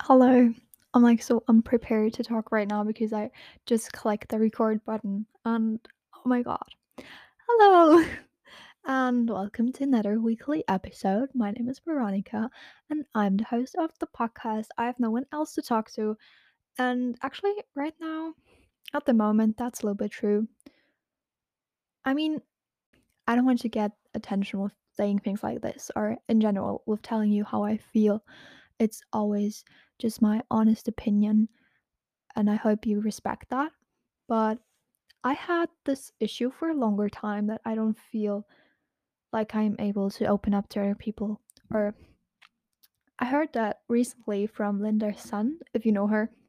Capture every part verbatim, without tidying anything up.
Hello. I'm like so unprepared to talk right now because I just clicked the record button and oh my god. Hello. And welcome to another weekly episode. My name is Veronica and I'm the host of the podcast. I have no one else to talk to. And actually, right now, at the moment, that's a little bit true. I mean, I don't want to get attention with saying things like this or in general with telling you how I feel. It's always just my honest opinion and I hope you respect that. But I had this issue for a longer time that I don't feel like I'm able to open up to other people. Or I heard that recently from Linda Sun, if you know her,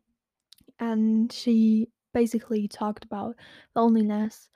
and she basically talked about loneliness.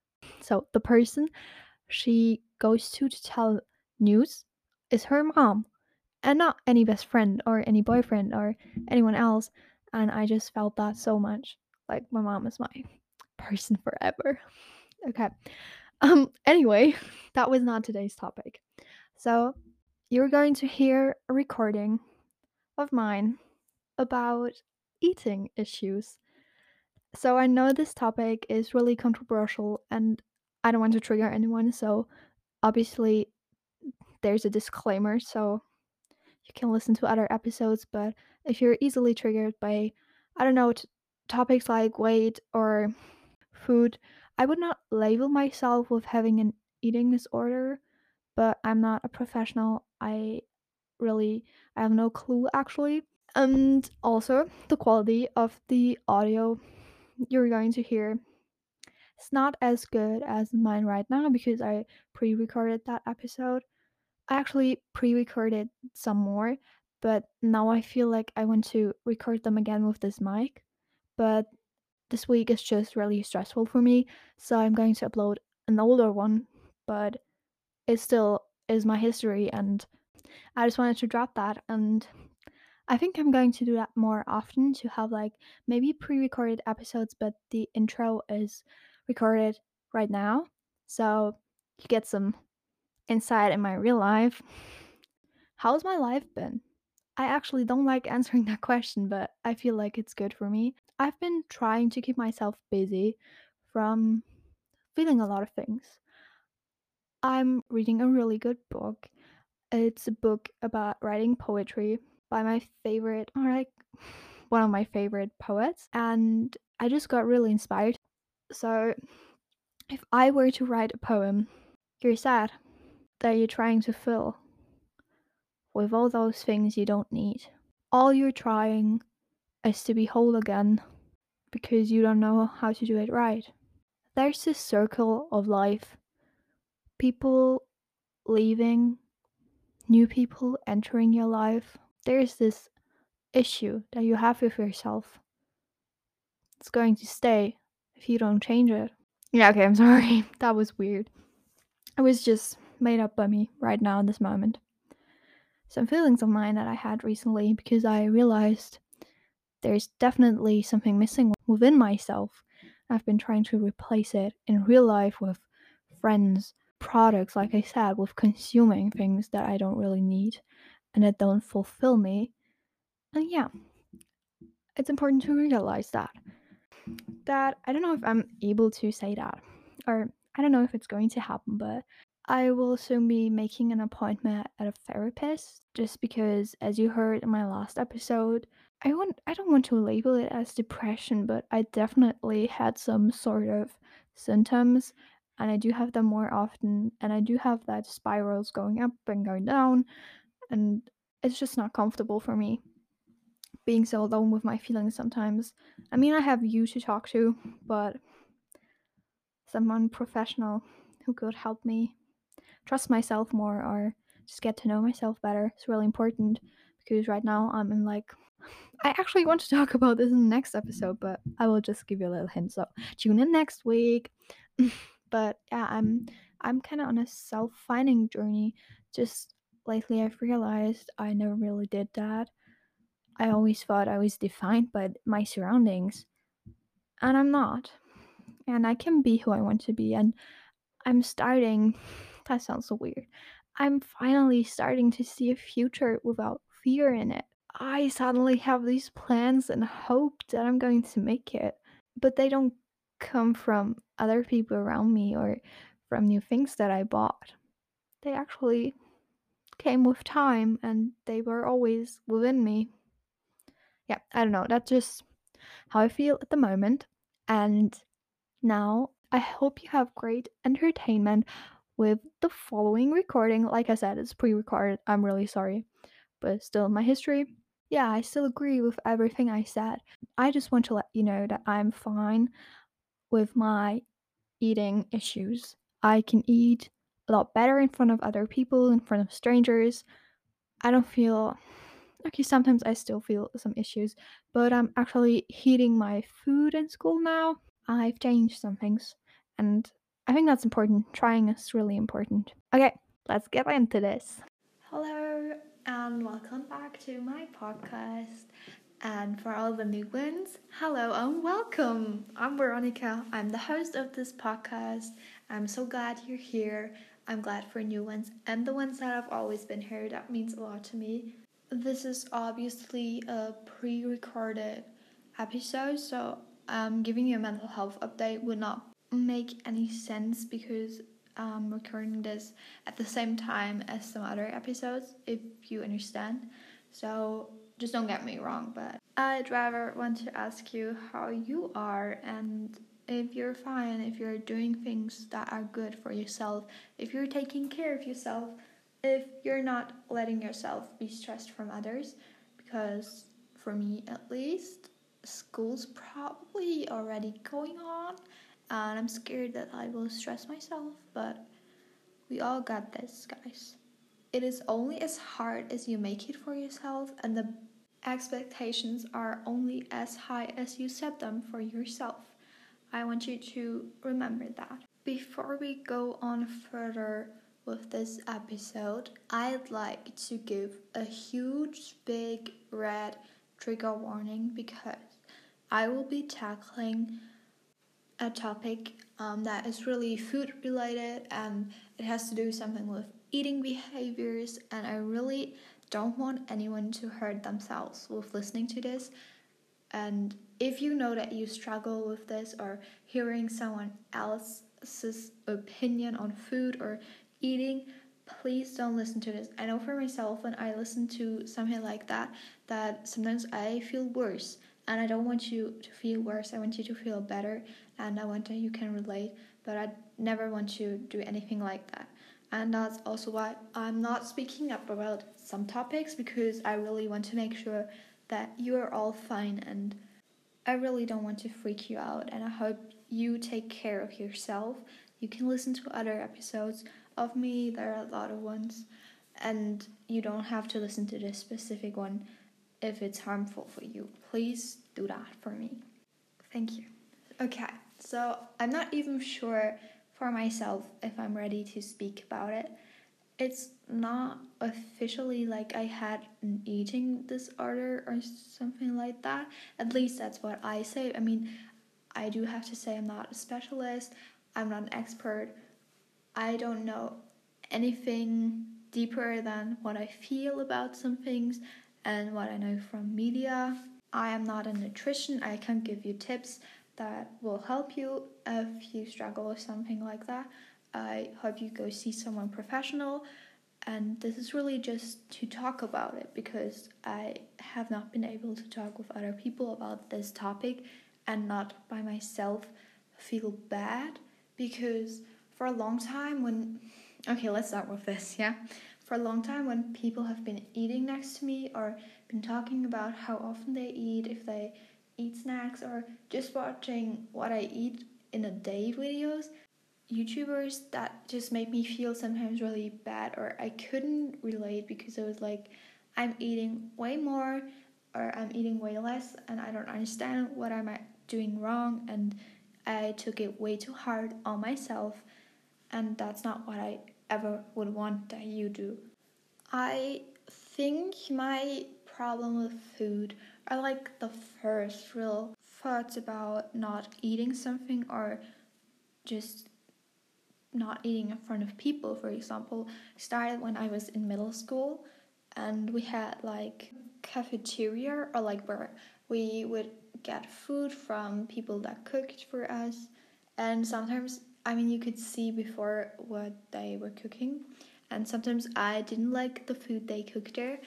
So the person she goes to to tell news is her mom and not any best friend or any boyfriend or anyone else. And I just felt that so much. Like my mom is my person forever. Okay. Um anyway, that was not today's topic. So, you're going to hear a recording of mine about eating issues. So, I know this topic is really controversial and I don't want to trigger anyone, so obviously there's a disclaimer so you can listen to other episodes, but if you're easily triggered by I don't know t- topics like weight or food, I would not label myself with having an eating disorder, but I'm not a professional. I really I have no clue actually. And also the quality of the audio you're going to hear is not as good as mine right now because I pre-recorded that episode. I actually pre-recorded some more, but now I feel like I want to record them again with this mic. But this week is just really stressful for me, so I'm going to upload an older one, but it still is my history and I just wanted to drop that and I think I'm going to do that more often to have like maybe pre-recorded episodes but the intro is recorded right now. So you get some insight in my real life. How's my life been? I actually don't like answering that question, but I feel like it's good for me. I've been trying to keep myself busy from feeling a lot of things. I'm reading a really good book. It's a book about writing poetry by my favorite, or like one of my favorite poets, and I just got really inspired. So, if I were to write a poem, you're sad that you're trying to fill with all those things you don't need. All you're trying is to be whole again because you don't know how to do it right. There's this circle of life, people leaving, new people entering your life. There's this issue that you have with yourself. It's going to stay if you don't change it. Yeah, okay, I'm sorry. That was weird. It was just made up by me right now in this moment. Some feelings of mine that I had recently because I realized there's definitely something missing within myself. I've been trying to replace it in real life with friends, products, like I said, with consuming things that I don't really need and that don't fulfill me. And yeah, it's important to realize that. That I don't know if I'm able to say that, or I don't know if it's going to happen, but I will soon be making an appointment at a therapist just because, as you heard in my last episode, I want I don't want to label it as depression, but I definitely had some sort of symptoms and I do have them more often and I do have that spirals going up and going down and it's just not comfortable for me being so alone with my feelings sometimes. I mean, I have you to talk to, but someone professional who could help me trust myself more or just get to know myself better is really important because right now I'm in like I actually want to talk about this in the next episode, but I will just give you a little hint. So tune in next week. But yeah, I'm I'm kind of on a self-finding journey. Just lately, I've realized I never really did that. I always thought I was defined by my surroundings, and I'm not. And I can be who I want to be, and I'm starting. That sounds so weird. I'm finally starting to see a future without fear in it. I suddenly have these plans and hope that I'm going to make it, but they don't come from other people around me or from new things that I bought. They actually came with time and they were always within me. Yeah, I don't know. That's just how I feel at the moment. And now I hope you have great entertainment with the following recording. Like I said, it's pre recorded. I'm really sorry, but still, my history. Yeah, I still agree with everything I said. I just want to let you know that I'm fine with my eating issues. I can eat a lot better in front of other people, in front of strangers. I don't feel okay, sometimes I still feel some issues, but I'm actually heating my food in school now. I've changed some things, and I think that's important. Trying is really important. Okay, let's get into this. Hello, and welcome back to my podcast. And for all the new ones, hello and welcome. I'm Veronica. I'm the host of this podcast. I'm so glad you're here. I'm glad for new ones and the ones that have always been here. That means a lot to me. This is obviously a pre recorded episode, so um, giving you a mental health update would not make any sense because I'm recording this at the same time as some other episodes, if you understand. So just don't get me wrong, but I'd rather want to ask you how you are and if you're fine, if you're doing things that are good for yourself, if you're taking care of yourself, if you're not letting yourself be stressed from others, because for me at least, school's probably already going on and I'm scared that I will stress myself, but we all got this, guys. It is only as hard as you make it for yourself, and the expectations are only as high as you set them for yourself. I want you to remember that. Before we go on further with this episode, I'd like to give a huge, big, red trigger warning because I will be tackling a topic um, that is really food related and it has to do something with eating behaviors, and I really don't want anyone to hurt themselves with listening to this. And if you know that you struggle with this or hearing someone else's opinion on food or eating, please don't listen to this. I know for myself, when I listen to something like that, that sometimes I feel worse. And I don't want you to feel worse. I want you to feel better. And I want that you can relate. But I never want to do anything like that. And that's also why I'm not speaking up about some topics, because I really want to make sure that you are all fine, and I really don't want to freak you out, and I hope you take care of yourself. You can listen to other episodes of me, there are a lot of ones, and you don't have to listen to this specific one if it's harmful for you. Please do that for me. Thank you. Okay, so I'm not even sure for myself if I'm ready to speak about it. It's not officially like I had an eating disorder or something like that. At least that's what I say. I mean, I do have to say I'm not a specialist. I'm not an expert. I don't know anything deeper than what I feel about some things and what I know from media. I am not a nutrition. I can't give you tips that will help you if you struggle with something like that. I hope you go see someone professional, and this is really just to talk about it because I have not been able to talk with other people about this topic and not by myself feel bad, because for a long time when okay let's start with this yeah for a long time when people have been eating next to me or been talking about how often they eat, if they eat snacks, or just watching what I eat in a day videos, YouTubers, that just made me feel sometimes really bad, or I couldn't relate because it was like I'm eating way more or I'm eating way less and I don't understand what am I doing wrong, and I took it way too hard on myself, and that's not what I ever would want that you do. I think my problem with food are like the first real thoughts about not eating something or just not eating in front of people, for example, started when I was in middle school, and we had like cafeteria, or like where we would get food from people that cooked for us. And sometimes, I mean, you could see before what they were cooking. And sometimes I didn't like the food they cooked there.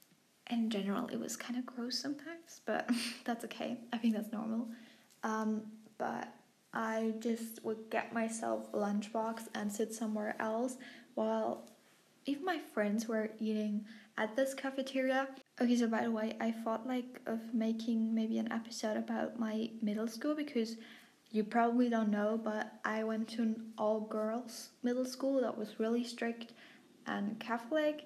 In general, it was kind of gross sometimes, but that's okay. I think that's normal. Um, but I just would get myself a lunchbox and sit somewhere else while even my friends were eating at this cafeteria. Okay, so by the way, I thought like of making maybe an episode about my middle school, because you probably don't know, but I went to an all-girls middle school that was really strict and Catholic,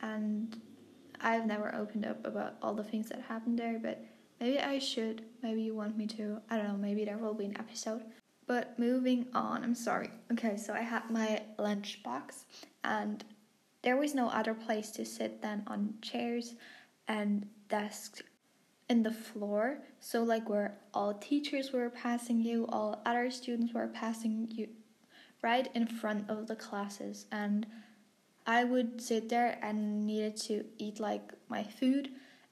and I've never opened up about all the things that happened there, but maybe I should. Maybe you want me to. I don't know, maybe there will be an episode. But moving on, I'm sorry. Okay, so I had my lunchbox, and there was no other place to sit than on chairs and desks in the floor. So like where all teachers were passing you, all other students were passing you, right in front of the classes. And I would sit there and needed to eat like my food,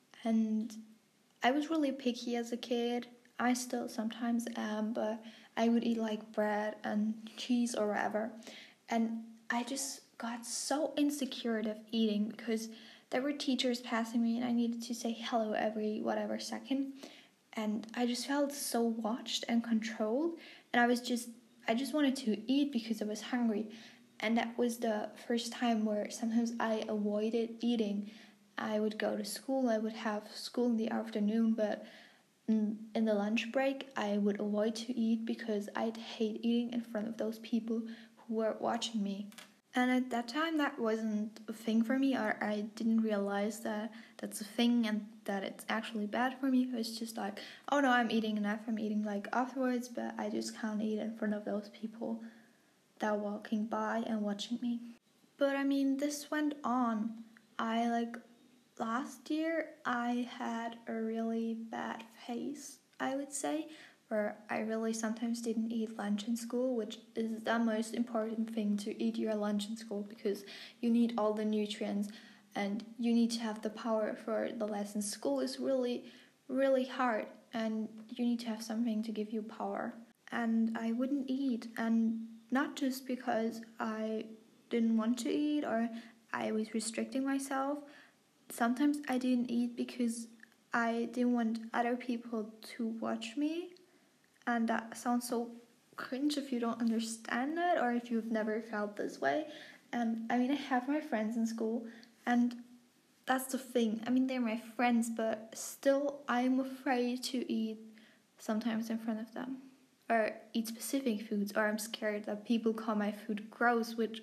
and I was really picky as a kid. I still sometimes am, but I would eat like bread and cheese or whatever. And I just got so insecure of eating because there were teachers passing me and I needed to say hello every whatever second. And I just felt so watched and controlled. And I was just, I just wanted to eat because I was hungry. And that was the first time where sometimes I avoided eating. I would go to school, I would have school in the afternoon, but in the lunch break, I would avoid to eat because I'd hate eating in front of those people who were watching me. And at that time, that wasn't a thing for me, or I didn't realize that that's a thing and that it's actually bad for me. It was just like, oh no, I'm eating enough, I'm eating like afterwards, but I just can't eat in front of those people that are walking by and watching me. But I mean, this went on. I like, last year, I had a really bad phase, I would say, where I really sometimes didn't eat lunch in school, which is the most important thing, to eat your lunch in school, because you need all the nutrients and you need to have the power for the lessons. School is really, really hard, and you need to have something to give you power. And I wouldn't eat, and not just because I didn't want to eat or I was restricting myself. Sometimes I didn't eat because I didn't want other people to watch me. And that sounds so cringe if you don't understand it or if you've never felt this way. And I mean, I have my friends in school, and that's the thing. I mean, they're my friends, but still I'm afraid to eat sometimes in front of them, or eat specific foods, or I'm scared that people call my food gross, which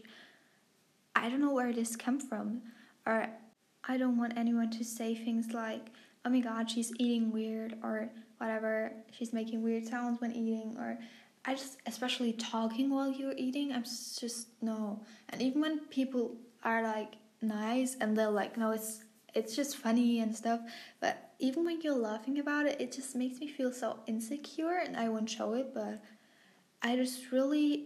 I don't know where this comes from. Or I don't want anyone to say things like, oh my god, she's eating weird, or whatever, she's making weird sounds when eating, or I just, especially talking while you're eating, I'm just, no. And even when people are like nice and they're like, no, it's it's just funny and stuff, but even when you're laughing about it, it just makes me feel so insecure, and I won't show it, but I just really,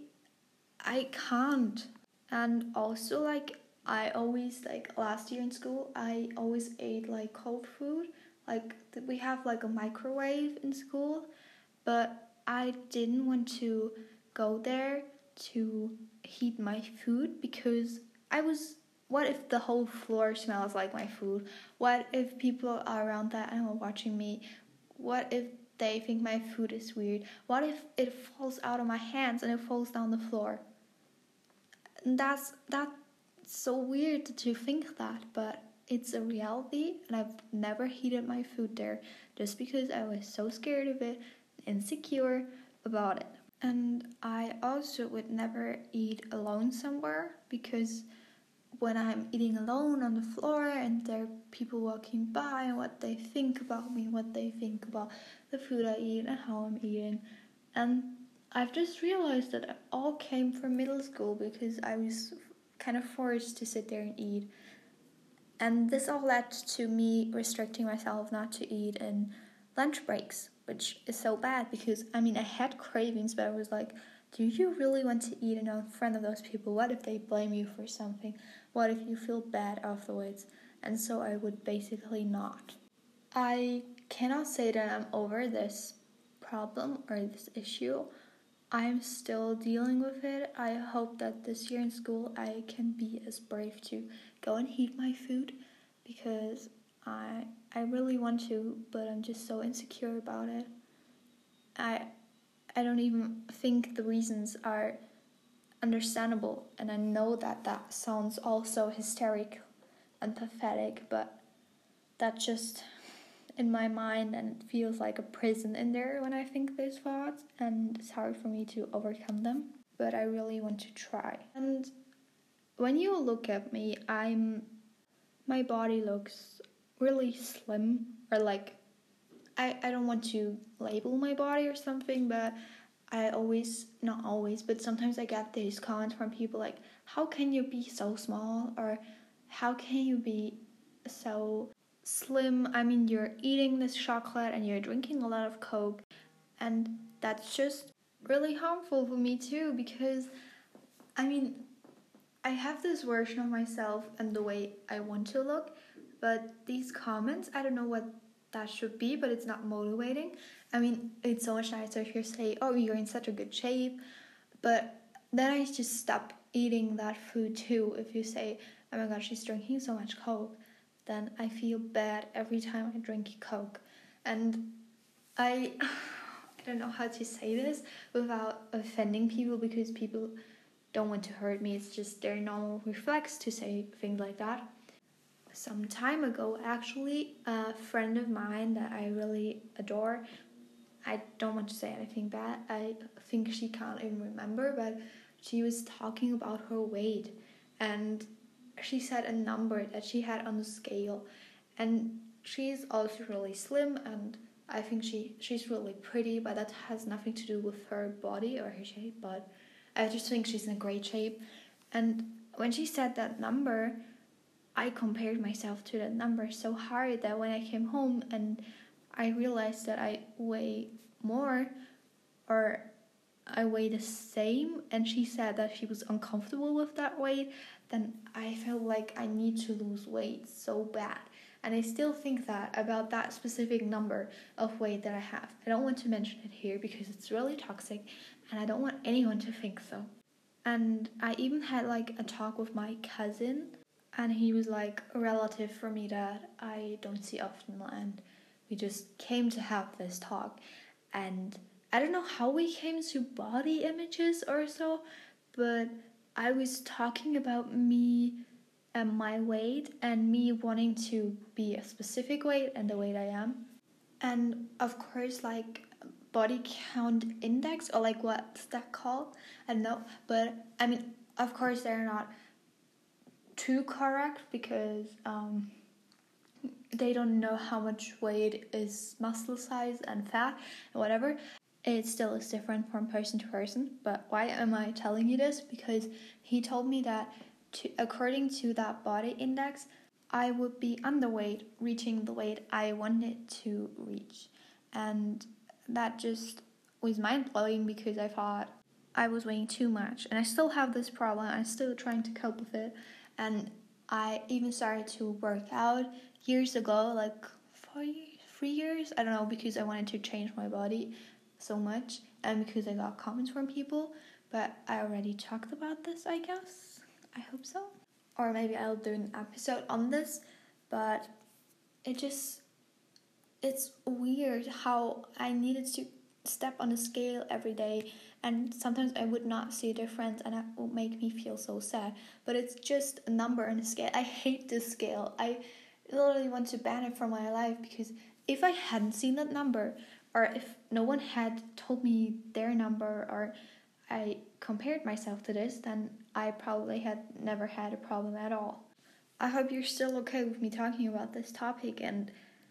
I can't. And also, like, I always, like, last year in school, I always ate, like, cold food. Like, we have, like, a microwave in school, but I didn't want to go there to heat my food because I was, what if the whole floor smells like my food? What if people are around that and are watching me? What if they think my food is weird? What if it falls out of my hands and it falls down the floor? And that's that's so weird to think that, but it's a reality, and I've never heated my food there just because I was so scared of it, insecure about it. And I also would never eat alone somewhere, because when I'm eating alone on the floor and there are people walking by and what they think about me, what they think about the food I eat and how I'm eating. And I've just realized that it all came from middle school because I was kind of forced to sit there and eat. And this all led to me restricting myself not to eat in lunch breaks, which is so bad because, I mean, I had cravings, but I was like, do you really want to eat in front of those people? What if they blame you for something? What if you feel bad afterwards? and so I would basically not. I cannot say that I'm over this problem or this issue. I'm still dealing with it. I hope that this year in school I can be as brave to go and eat my food, because I I really want to, but I'm just so insecure about it. I I don't even think the reasons are understandable, and I know that that sounds also hysterical and pathetic, but that just in my mind, and it feels like a prison in there when I think those thoughts, and it's hard for me to overcome them, but I really want to try. And when you look at me, I'm my body looks really slim, or like I, I don't want to label my body or something, but I always, not always, but sometimes I get these comments from people like, how can you be so small, or how can you be so slim? I mean, you're eating this chocolate and you're drinking a lot of Coke, and that's just really harmful for me too, because I mean, I have this version of myself and the way I want to look, but these comments, I don't know what that should be, but it's not motivating. I mean, it's so much nicer if you say, oh, you're in such a good shape, but then I just stop eating that food too. If you say, oh my god, she's drinking so much Coke, then I feel bad every time I drink Coke. And I, I don't know how to say this without offending people, because people don't want to hurt me. It's just their normal reflex to say things like that. Some time ago, actually, a friend of mine that I really adore, I don't want to say anything bad, I think she can't even remember, but she was talking about her weight, and she said a number that she had on the scale, and she's also really slim, and I think she she's really pretty, but that has nothing to do with her body or her shape, but I just think she's in a great shape. And when she said that number, I compared myself to that number so hard that when I came home and I realized that I weigh more, or I weigh the same, and she said that she was uncomfortable with that weight, then I felt like I need to lose weight so bad. And I still think that about that specific number of weight that I have. I don't want to mention it here because it's really toxic, and I don't want anyone to think so. And I even had like a talk with my cousin, and he was like a relative for me that I don't see often, and we just came to have this talk. And I don't know how we came to body images or so, but I was talking about me and my weight, and me wanting to be a specific weight and the weight I am. And of course, like body count index, or like what's that called? I don't know, but I mean, of course they're not too correct, because um, they don't know how much weight is muscle size and fat and whatever. It still is different from person to person. But why am I telling you this? Because he told me that to, according to that body index, I would be underweight, reaching the weight I wanted to reach. And that just was mind-blowing, because I thought I was weighing too much. And I still have this problem. I'm still trying to cope with it. And I even started to work out years ago, like four years, three years, I don't know, because I wanted to change my body so much, and because I got comments from people. But I already talked about this, I guess. I hope so. Or maybe I'll do an episode on this, but it just, it's weird how I needed to step on a scale every day, and sometimes I would not see a difference, and that would make me feel so sad. But it's just a number on a scale. I hate this scale. I literally want to ban it from my life, because if I hadn't seen that number, or if no one had told me their number, or I compared myself to this, then I probably had never had a problem at all. I hope you're still okay with me talking about this topic, and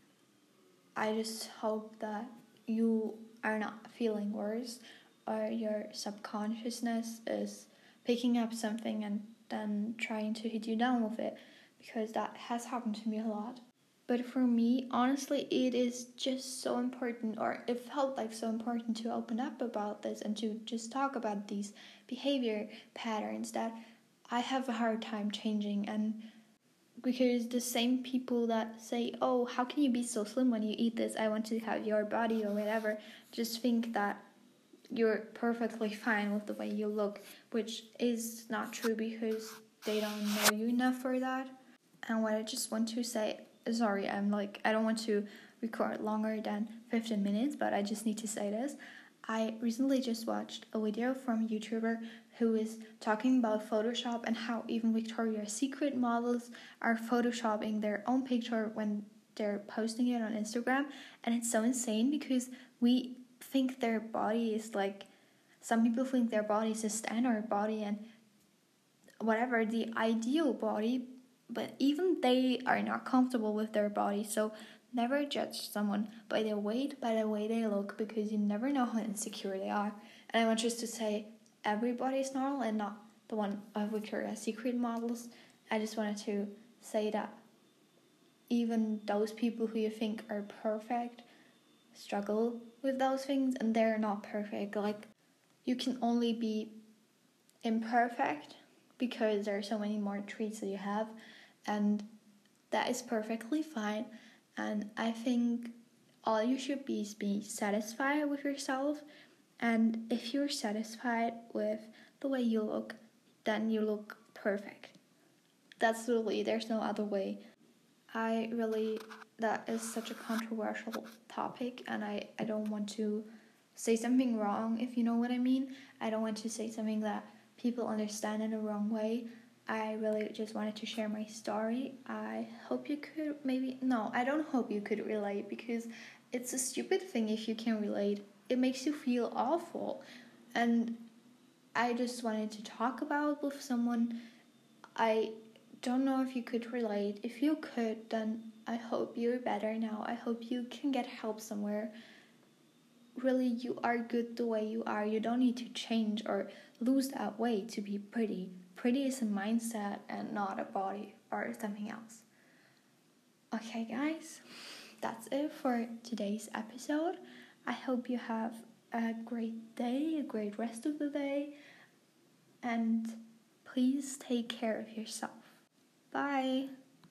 I just hope that you are not feeling worse, or your subconsciousness is picking up something and then trying to hit you down with it, because that has happened to me a lot. But for me, honestly, it is just so important, or it felt like so important to open up about this and to just talk about these behavior patterns that I have a hard time changing. And because the same people that say, oh, how can you be so slim when you eat this, I want to have your body or whatever, just think that you're perfectly fine with the way you look, which is not true because they don't know you enough for that. And what I just want to say, sorry, I'm like, I don't want to record longer than fifteen minutes, but I just need to say this. I recently just watched a video from a YouTuber who is talking about Photoshop and how even Victoria's Secret models are photoshopping their own picture when they're posting it on Instagram. And it's so insane because we think their body is like, some people think their body is a standard body and whatever, the ideal body, but even they are not comfortable with their body. So never judge someone by their weight, by the way they look, because you never know how insecure they are. And I want just to say, everybody is normal and not the one of Victoria's Secret models. I just wanted to say that even those people who you think are perfect struggle with those things, and they're not perfect. Like, you can only be imperfect because there are so many more traits that you have, and that is perfectly fine. And I think all you should be is be satisfied with yourself, and if you're satisfied with the way you look, then you look perfect. That's really, there's no other way. I really, that is such a controversial topic, and I, I don't want to say something wrong, if you know what I mean. I don't want to say something that people understand in a wrong way. I really just wanted to share my story. I hope you could maybe, no, I don't hope you could relate, because it's a stupid thing if you can relate. It makes you feel awful. And I just wanted to talk about with someone. I don't know if you could relate. If you could, then I hope you're better now. I hope you can get help somewhere. Really, you are good the way you are. You don't need to change or lose that weight to be pretty. Pretty is a mindset and not a body or something else. Okay, guys, that's it for today's episode. I hope you have a great day, a great rest of the day, and please take care of yourself. Bye.